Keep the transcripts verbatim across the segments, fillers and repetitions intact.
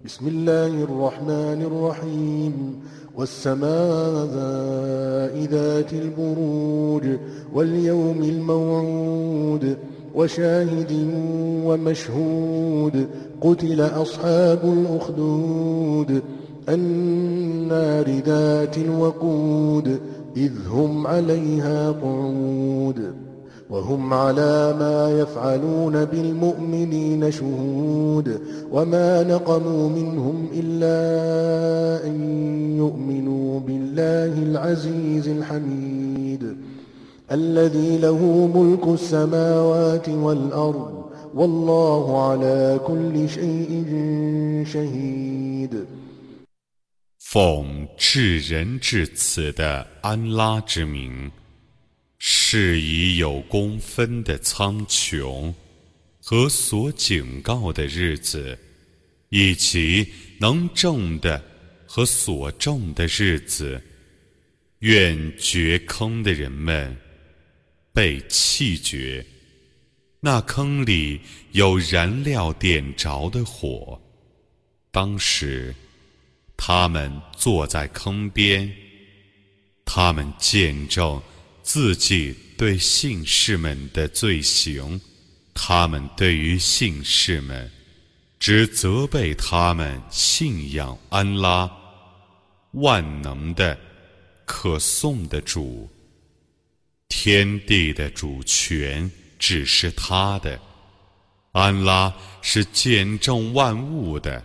بسم الله الرحمن الرحيم والسماء ذات البروج واليوم الموعود وشاهد ومشهود قتل أصحاب الأخدود النار ذات الوقود إذ هم عليها قعود وهم على ما يفعلون بالمؤمنين شهود وما نقموا منهم إلا أن يؤمنوا بالله العزيز الحميد الذي له ملك السماوات والأرض والله على كل شيء شهيد 奉至仁至慈的安拉之名，是以有公分的苍穹和所警告的日子，以及能证的和所证的日子，愿掘坑的人们被弃绝，那坑里有燃料点着的火。当时他们坐在坑边，他们见证自己对信士们的罪行，他们对于信士们只责备他们信仰安拉万能的可颂的主，天地的主权只是他的，安拉是见证万物的。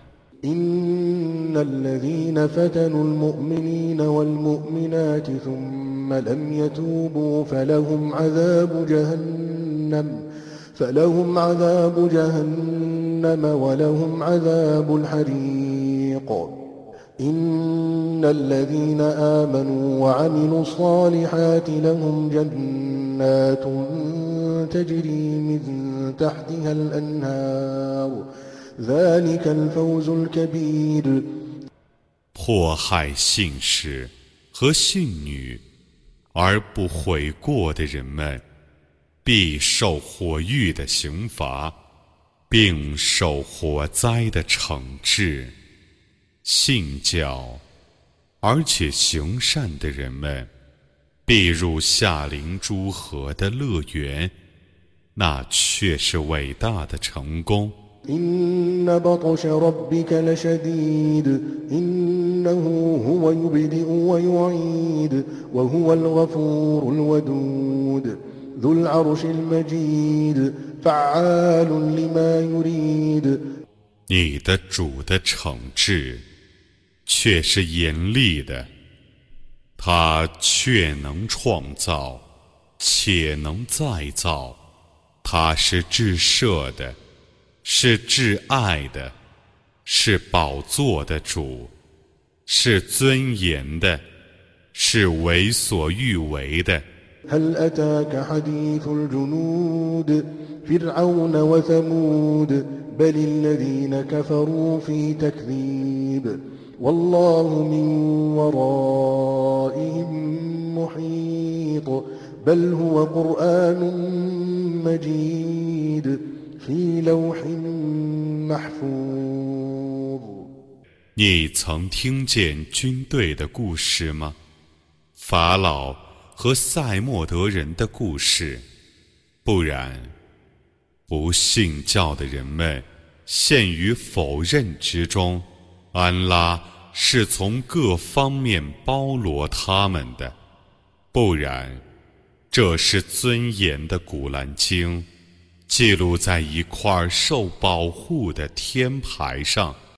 إن الذين فتنوا المؤمنين والمؤمنات ثم لم يتوبوا فلهم عذاب جهنم فلهم عذاب جهنم ولهم عذاب الحريق إن الذين آمنوا وعملوا الصالحات لهم جنات تجري من تحتها الأنهار ذلك الفوز الكبير 迫害信士和信女而不悔过的人们，必受火狱的刑罚，并受火灾的惩治。信教而且行善的人们，必入夏灵诸河的乐园，那却是伟大的成功。 إن بطش ربك لشديد إنه هو يبدئ ويعيد وهو الغفور الودود ذو العرش المجيد فعال لما يريد 你的主的惩治却是严厉的，他却能创造，且能再造，他是至赦的，是至爱的，是宝座的主，是尊严的，是为所欲为的。 هل أتاك حديث الجنود فرعون وثمود بل الذين كفروا في تكذيب والله من ورائهم محيط بل هو قرآن مجيد في لوح محفوظ 你曾听见军队的故事吗？法老和塞莫德人的故事，不然，不信教的人们陷于否认之中，安拉是从各方面包罗他们的，不然，这是尊严的古兰经，记录在一块受保护的天牌上。